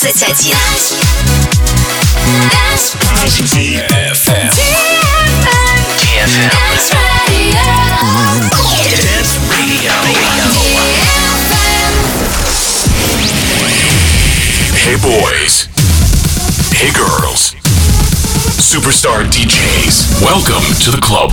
21. DFM. Dance Radio. Hey boys. Hey girls. Superstar DJs. Welcome to the club.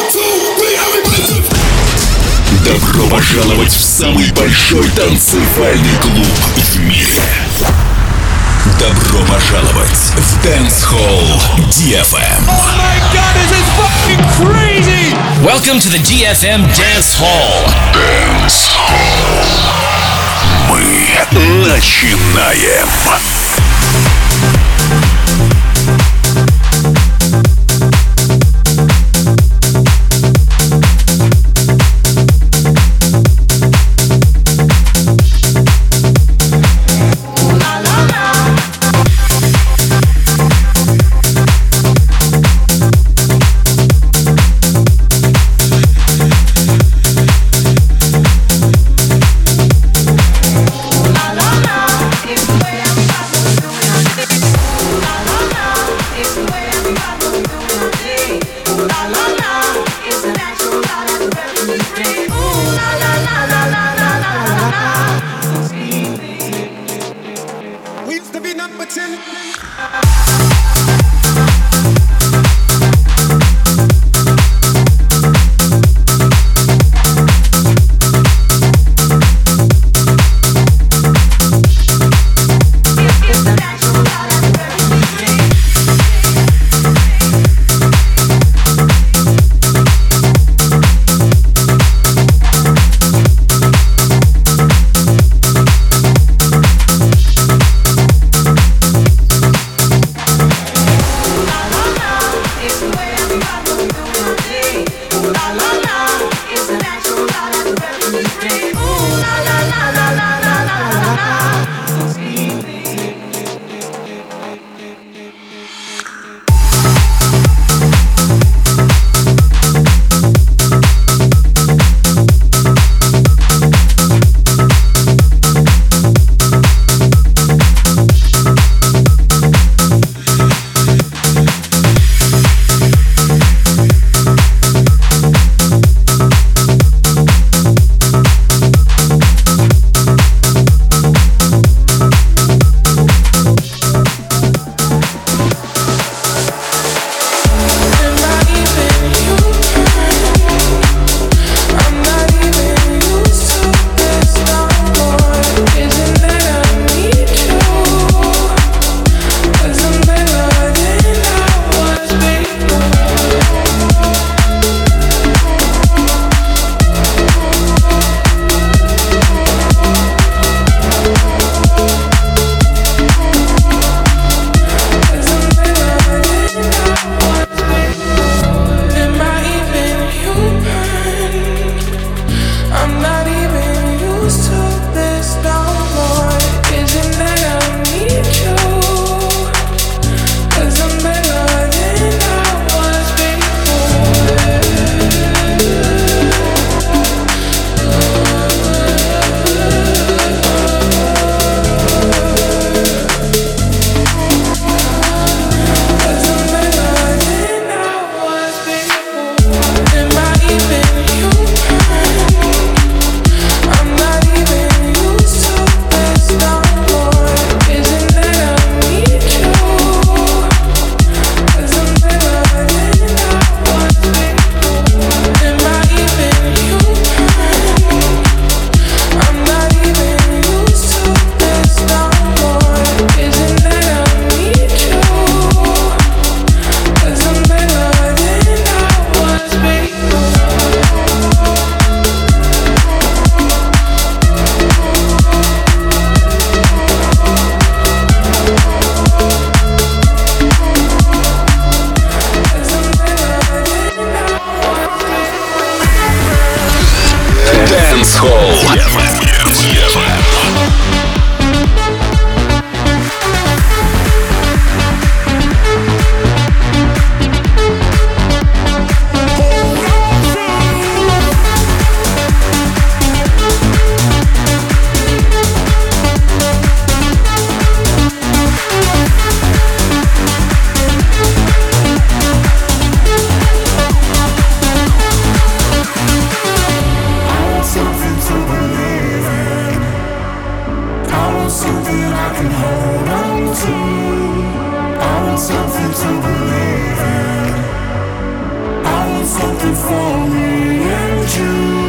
Добро пожаловать в самый большой танцевальный клуб в мире. Добро пожаловать в Dance Hall DFM. Oh my God, this is fucking crazy! Welcome to the DFM Dance Hall. Dance Hall. Мы начинаем. something for me and you.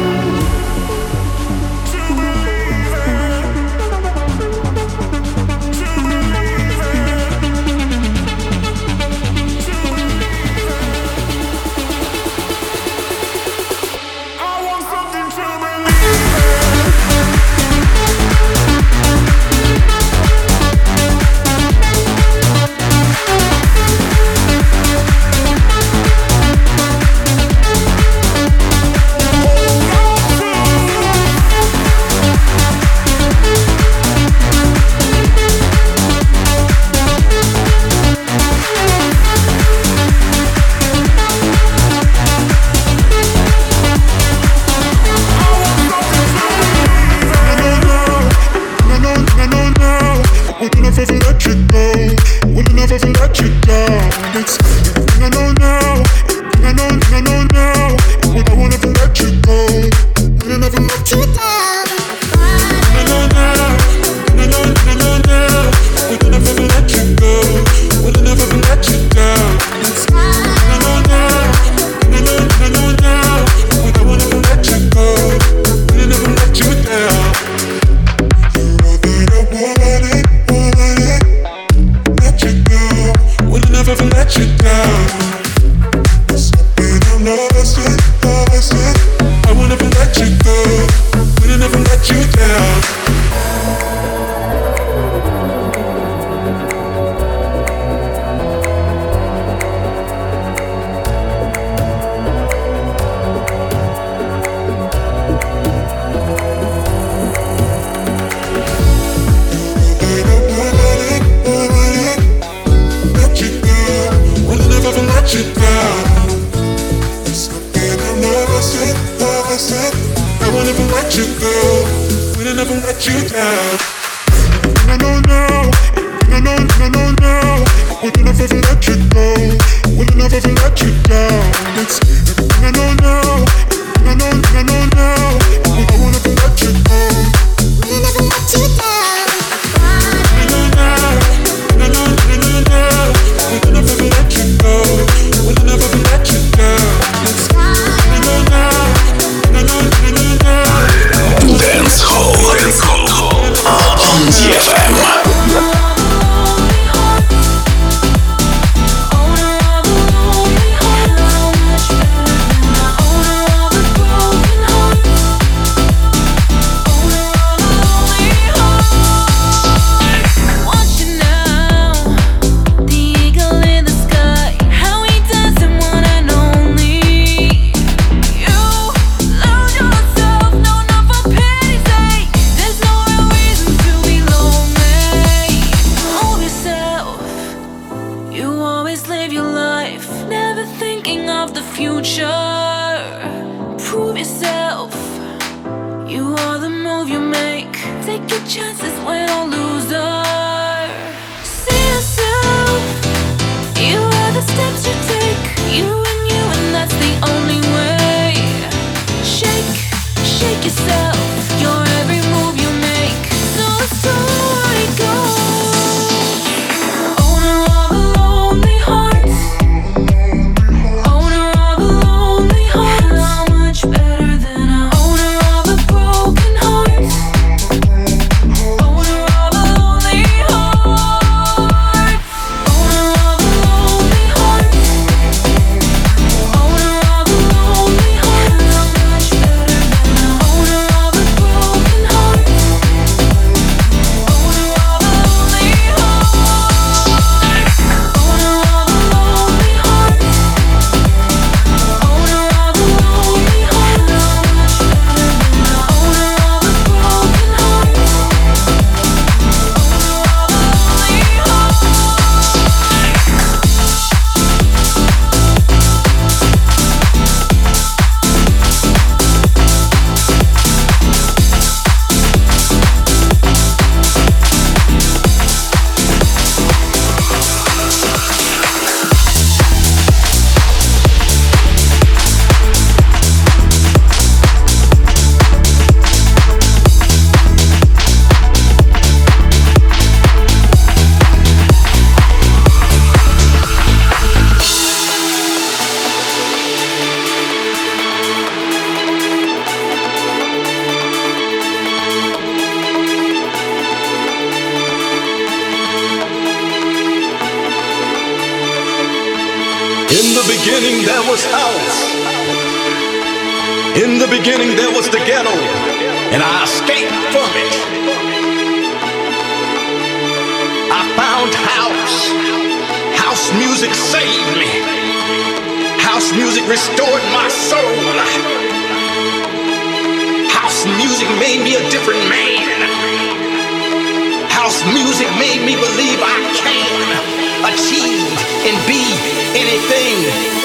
beginning there was house. In the beginning there was the ghetto, and I escaped from it. I found house. House music saved me. House music restored my soul. House music made me a different man. House music made me believe I can achieve and be anything.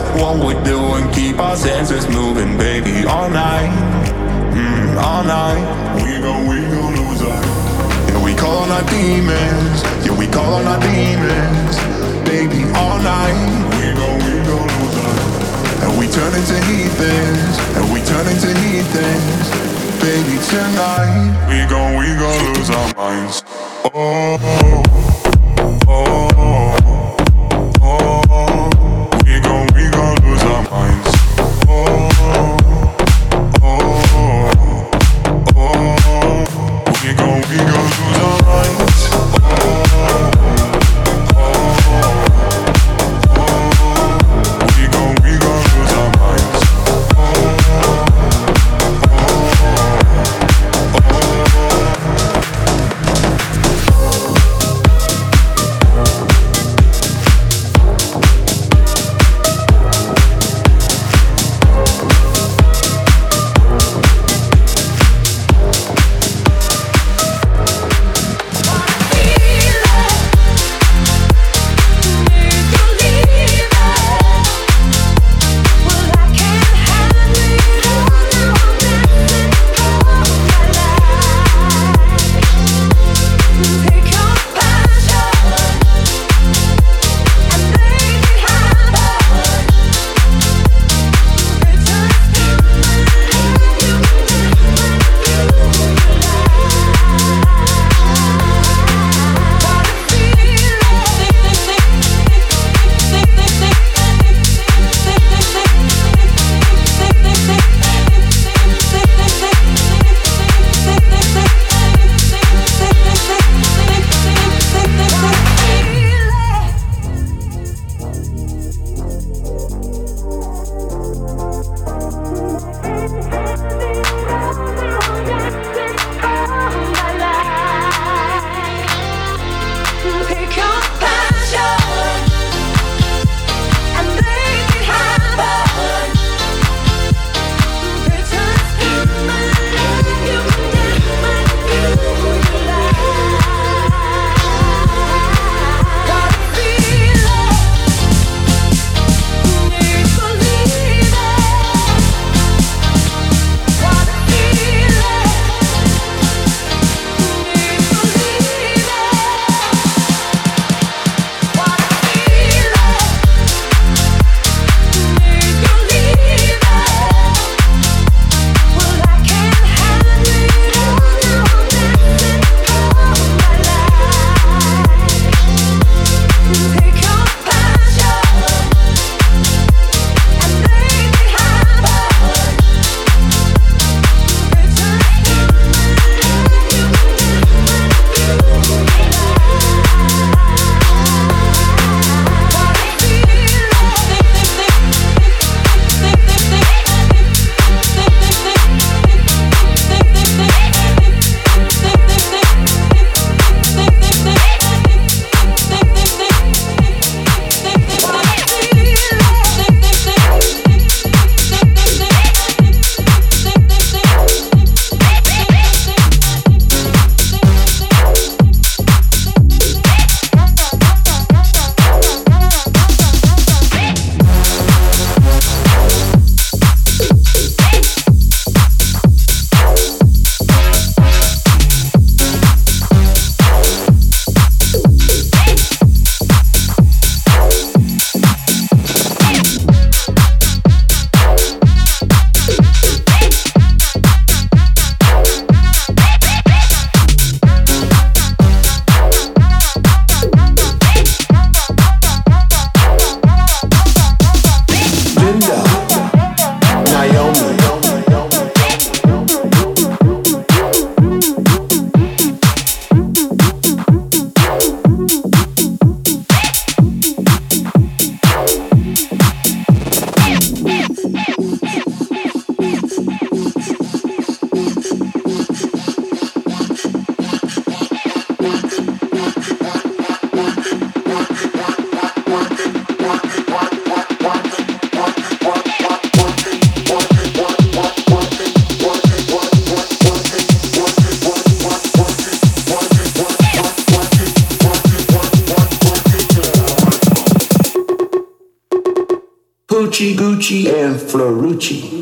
what we do and keep our senses moving, baby, all night, all night. We gon' lose our. Yeah, we call on our demons. Yeah, we call on our demons, baby, all night. We gon' lose our. And we turn into heathens, and we turn into heathens, baby, tonight. We gon' lose our minds. Oh, oh, oh. We gon' lose our minds. Oh, oh, oh. We gon' lose our minds. We gon' lose our minds. Gucci, Gucci, and Florucci.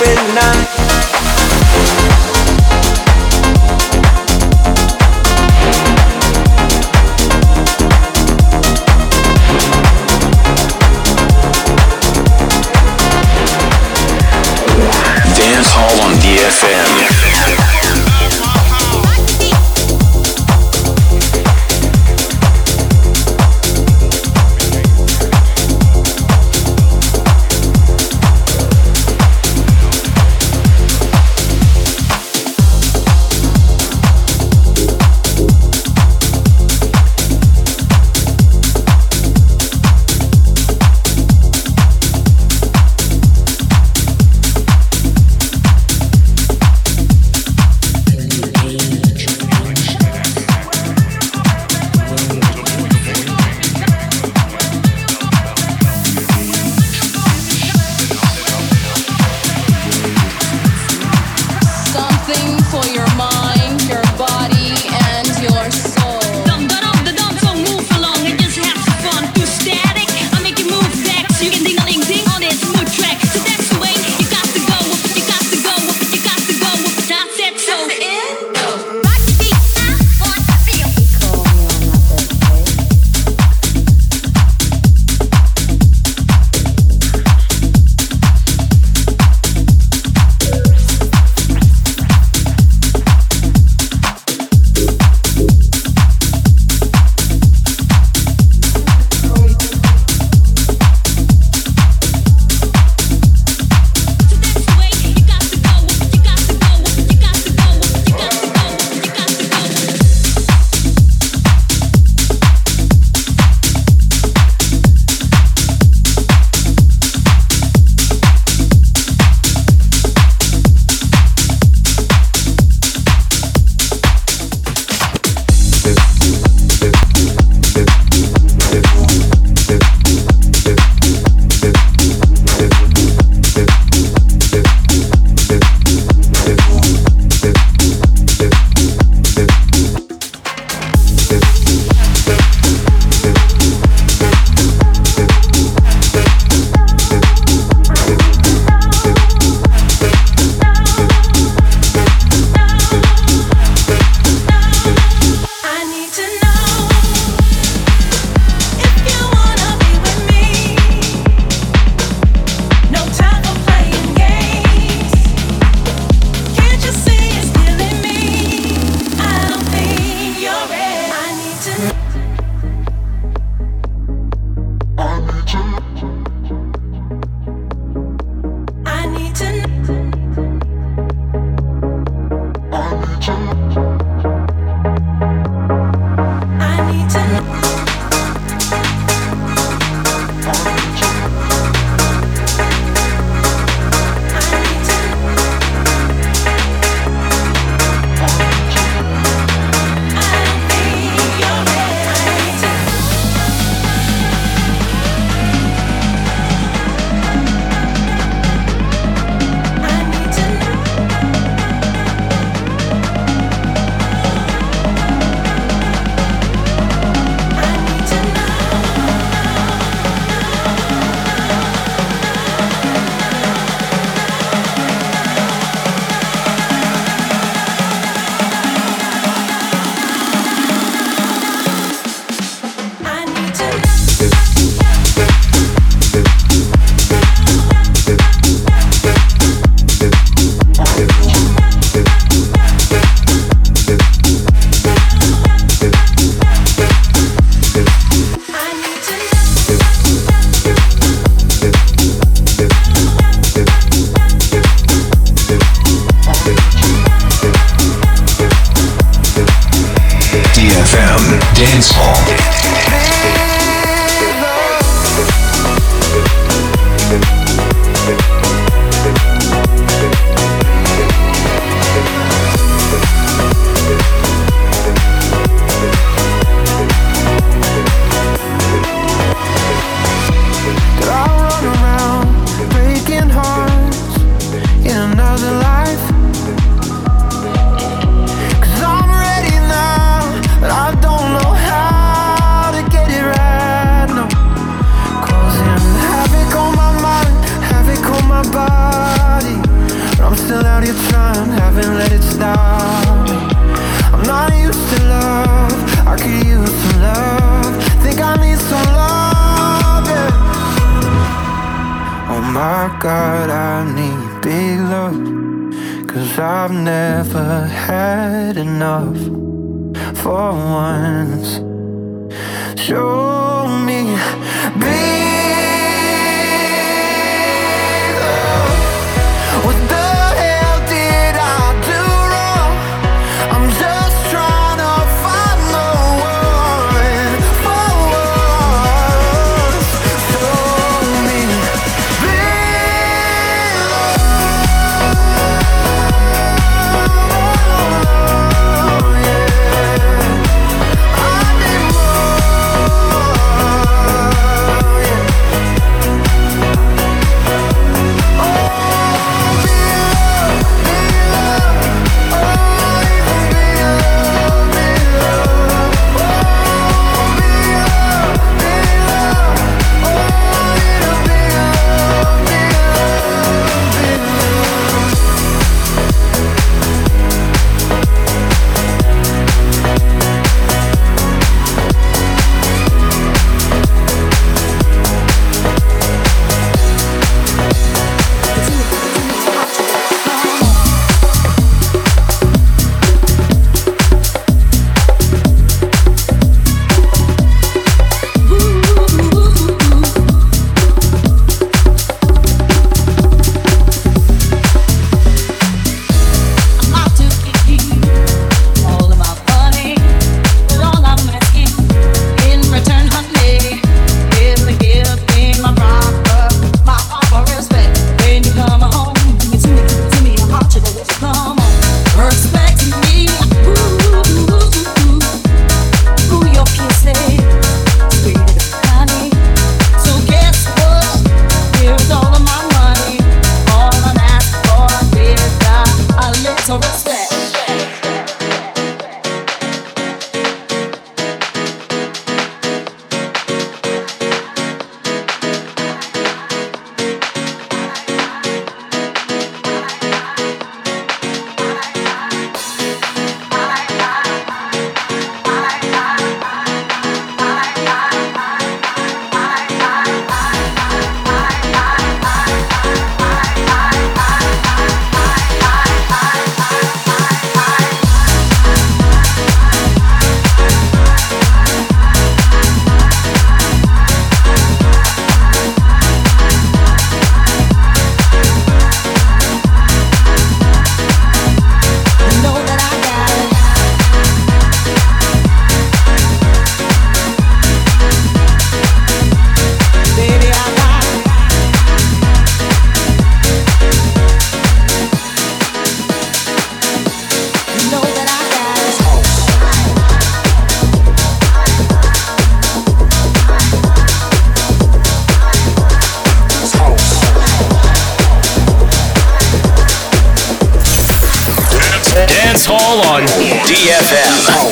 every night. Dance Hall on DFM. my God, I need big love, 'cause I've never had enough. For once, show me big love. What the hell did I do wrong? I'm just trying to find the one for once. Show me big love, yeah. I need more, yeah. Dance Hall on DFM.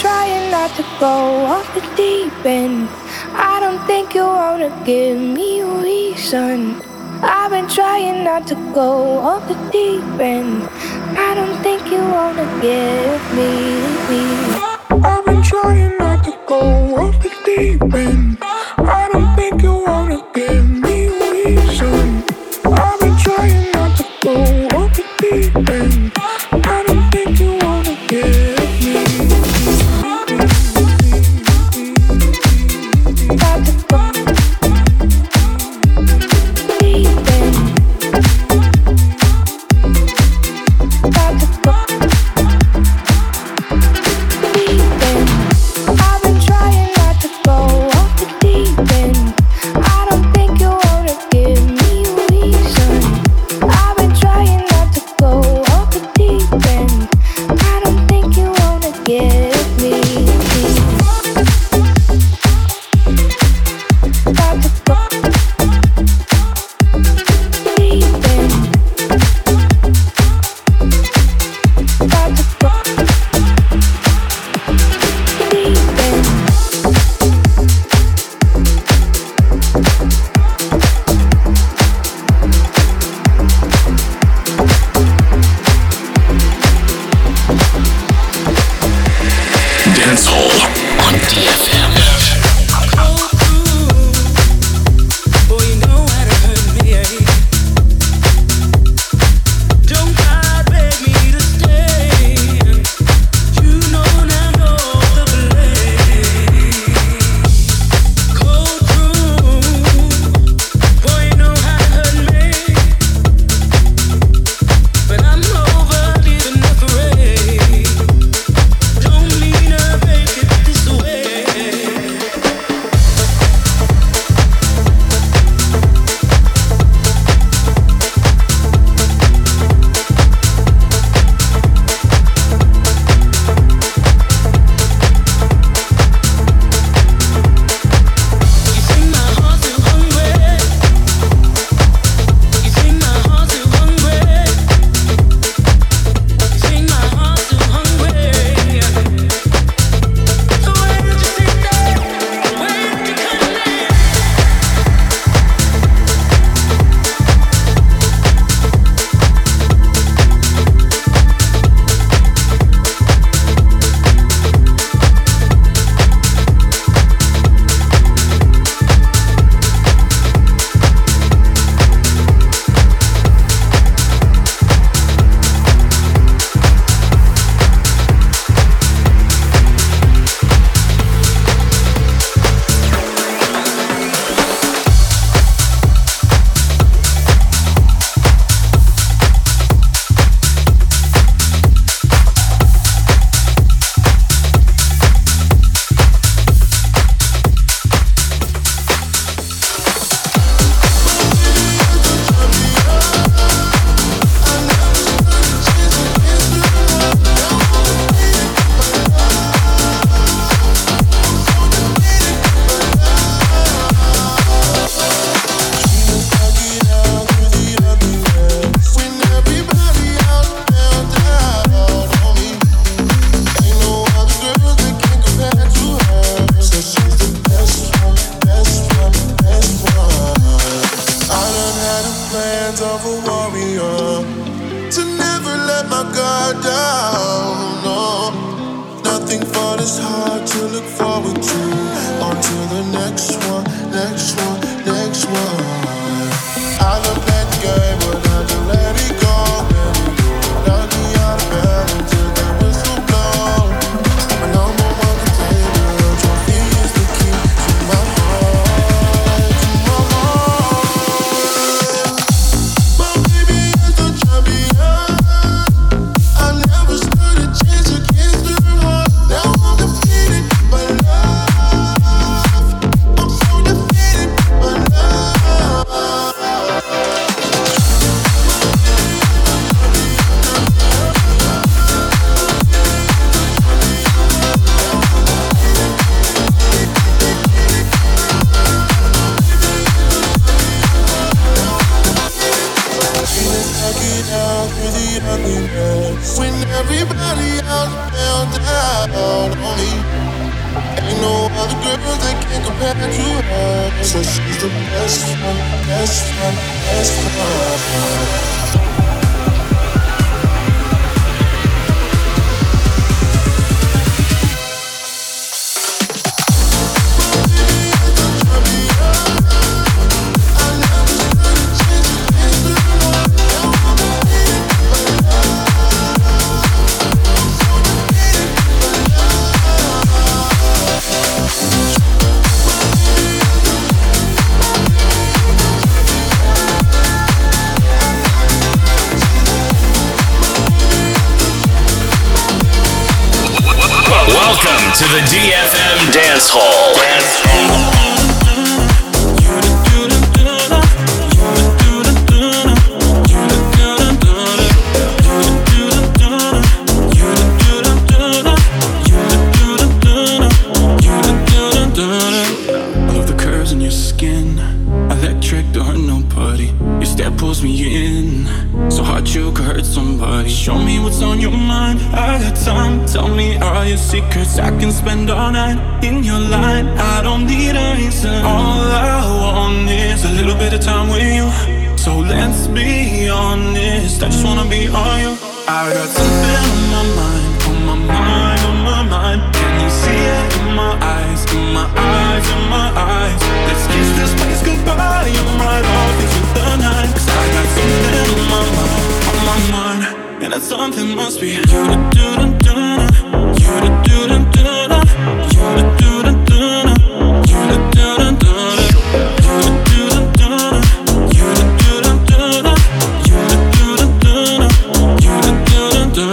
trying not to go off the deep end. I don't think you wanna give me a reason. I've been trying not to go off the deep end. I don't think you wanna give me. I've been trying not to go off the deep end. I don't think you wanna give me a reason. I've been trying not to go off the deep end. I don't think you wanna give me. Got to go deep end. Got to go deep end. I've been trying not to go off the deep end. I don't think you wanna give me a reason. I've been trying not to go off the deep end. I don't think you wanna give me. Got to go deep end. Got to go deep end. Dance Hall on DFM. Boy, you know how to hurt me. Don't cry, beg me to stay. You know now the blame. Cold through. Boy, you know how to hurt me. But I'm over leaving afraid. Don't mean to make it this way. You see my heart too hungry. You see my heart too hungry. You see my heart too hungry. So where did you see that? Where did you come in? Of a warrior to never let my guard down. No, nothing for this hard to look forward to. On to the next one, next one, next one. I love that game, but I just let it go. Knock me out of bed until the whistle blow. My number one contender, trophy is the key to my heart, to my heart. My baby is the champion. I never stood a chance against her heart. Now I'm defeated, but love, I'm so defeated, but love. girl that can't compare to her. So she's the best one, best one, best one. Welcome to the DFM Dance Hall. I love the curves in your skin. Electric, don't hurt nobody. Your step pulls me in. So hard you could hurt somebody. Show me what's on your mind. I got time. Tell me all your secrets. I can spend all night in your line. I don't need a reason. All I want is a little bit of time with you. So let's be honest. I just wanna be all you. I got something on my mind. On my mind, on my mind. Can you see it in my eyes? In my eyes, in my eyes. Let's kiss this place goodbye. I'm right off into the night. 'Cause I got something on my mind, on my mind. And that something must be you to do to do. You to do to do. You to do to do. You to do to do. You to do to do. You to do to do. You to do to do. You to do to do.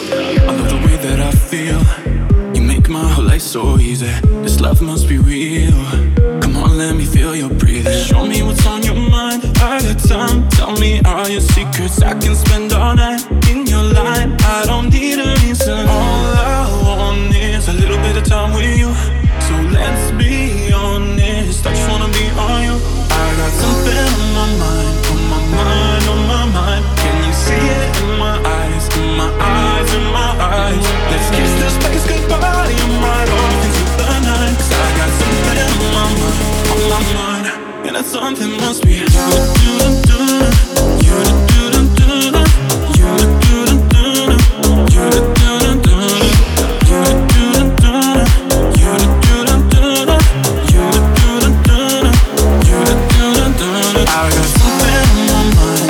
I love the way that I feel. You make my whole life so easy. This love must be real. Come on, let me feel your breathing. Show me what's on your mind. I got time. Tell me all your secrets. I can spend all night in your line. I don't need a reason. All I want is a little bit of time with you. So let's be honest. I just wanna be on you. I got something on my mind. On my mind, on my mind. Can you see it in my eyes? In my eyes, in my eyes. Let's kiss this place goodbye. I'm right off into the night. 'Cause I got something on my mind, on my mind. And that something must be you to do to do. You to do to do. You to do to do. You to do to do. You to do to do. You to do to do. You to do to do. You to do to do. I got something on my mind.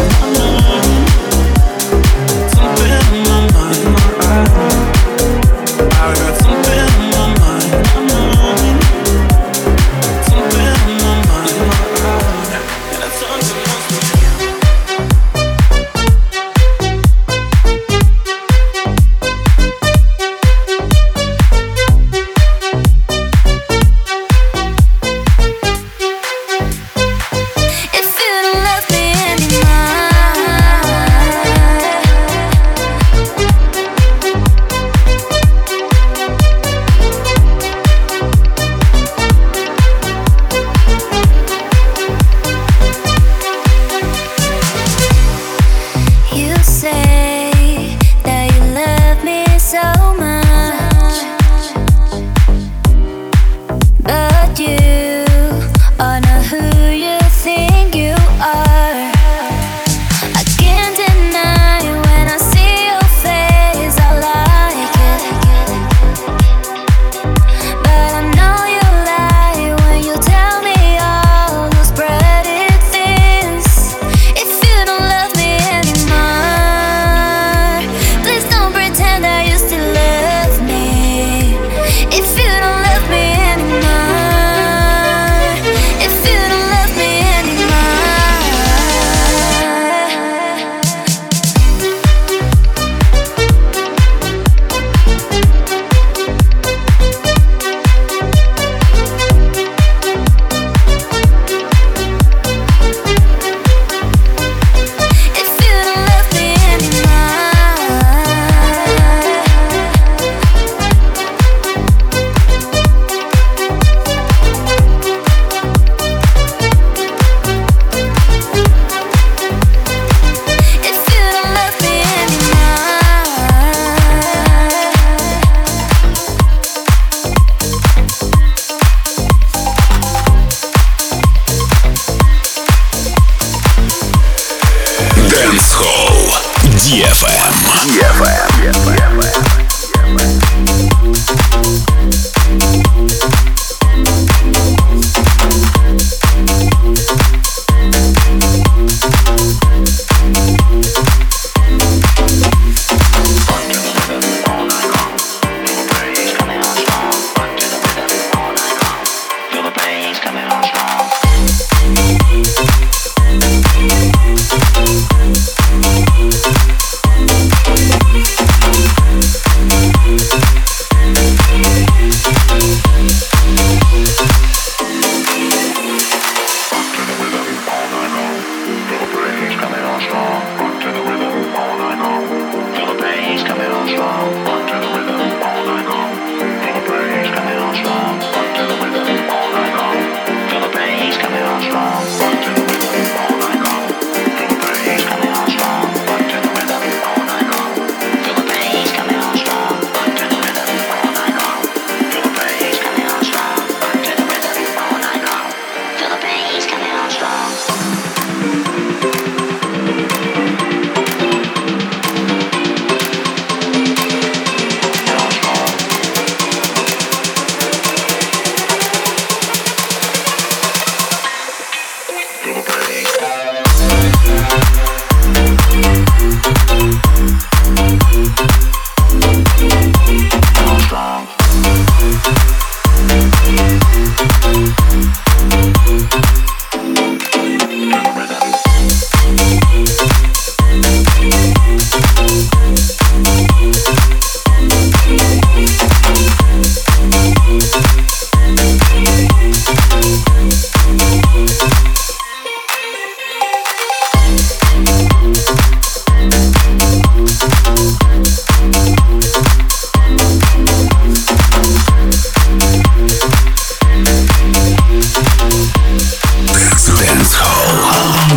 Something on my mind. I got something on my mind. Something on my mind. And that's something must be. If you don't love me anymore,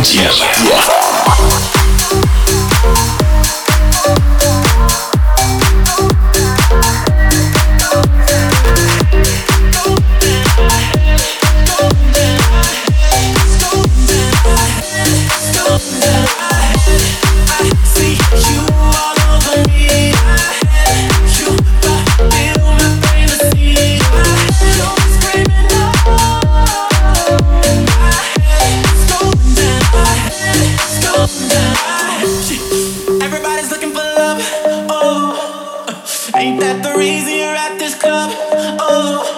DFM.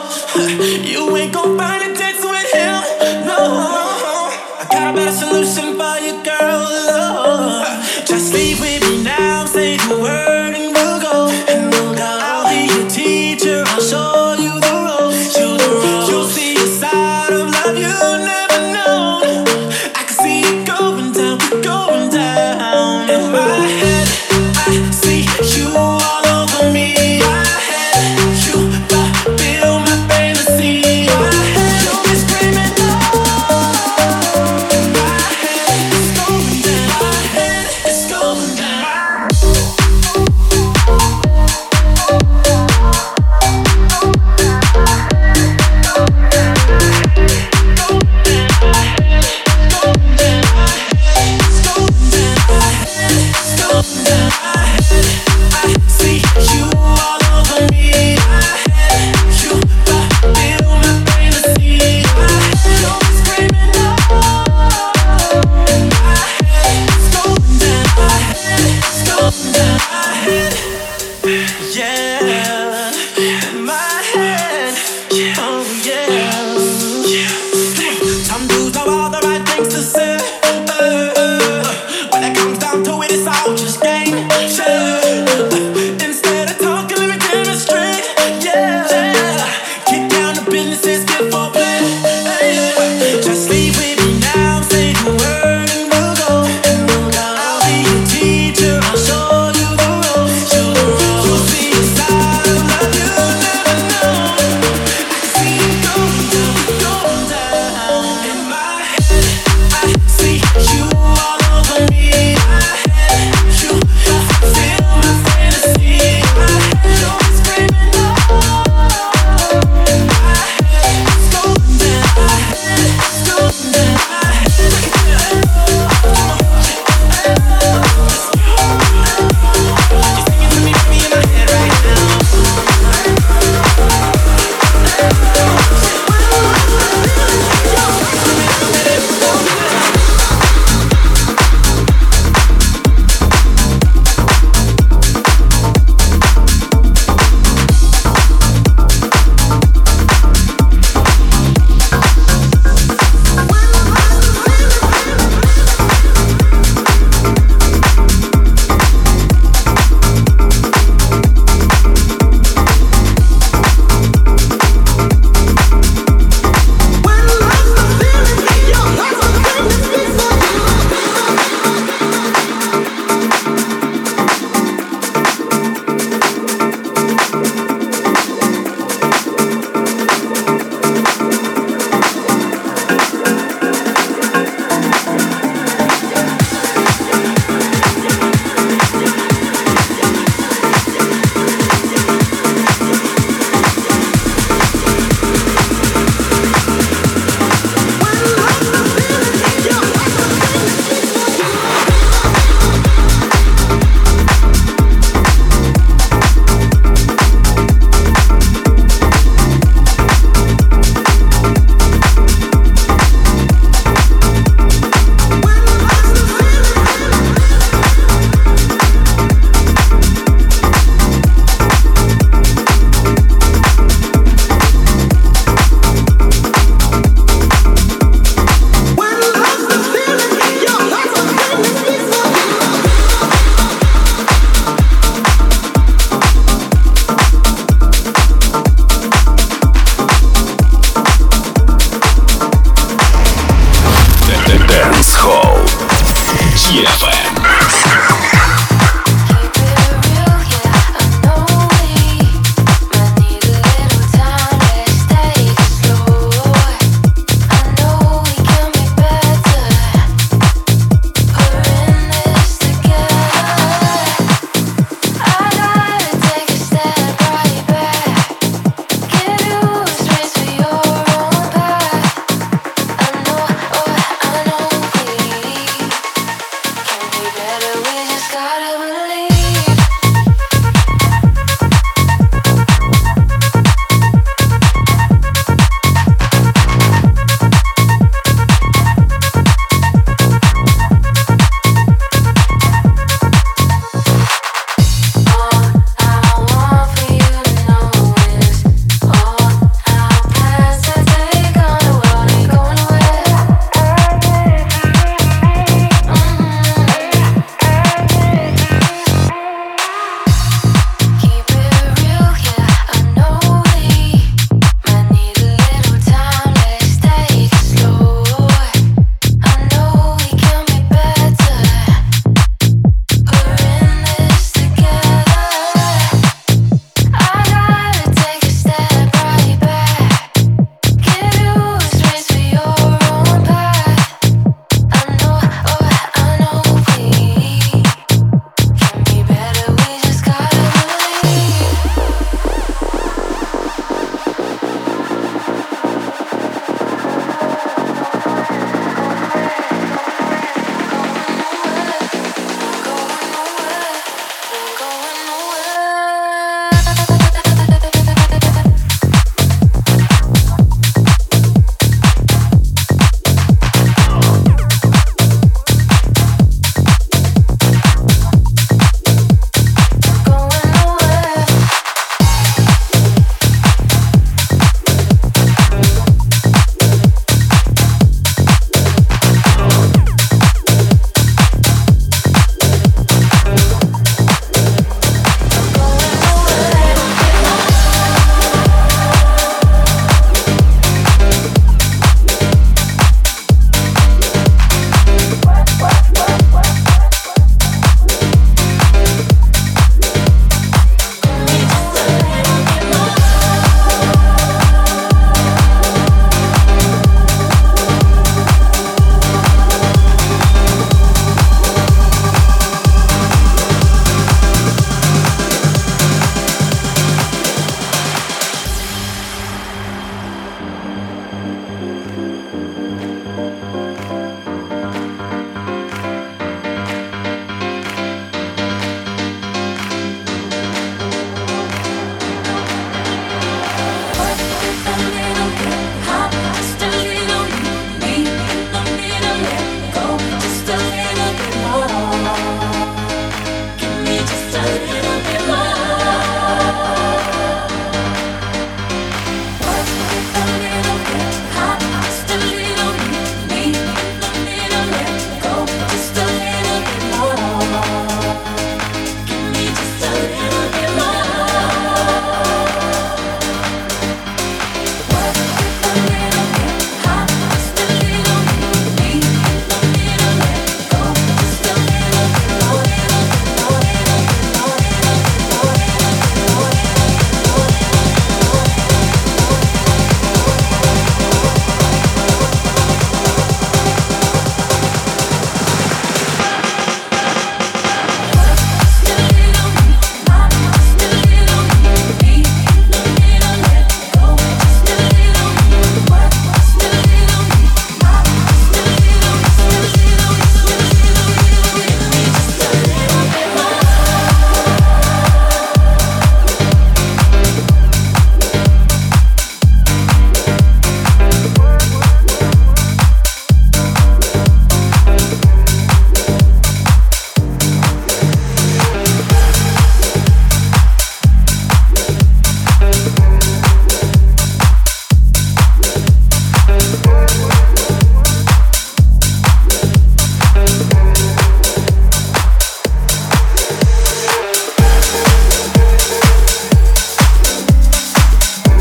You ain't gon' find a dance with him, no. I got a better solution.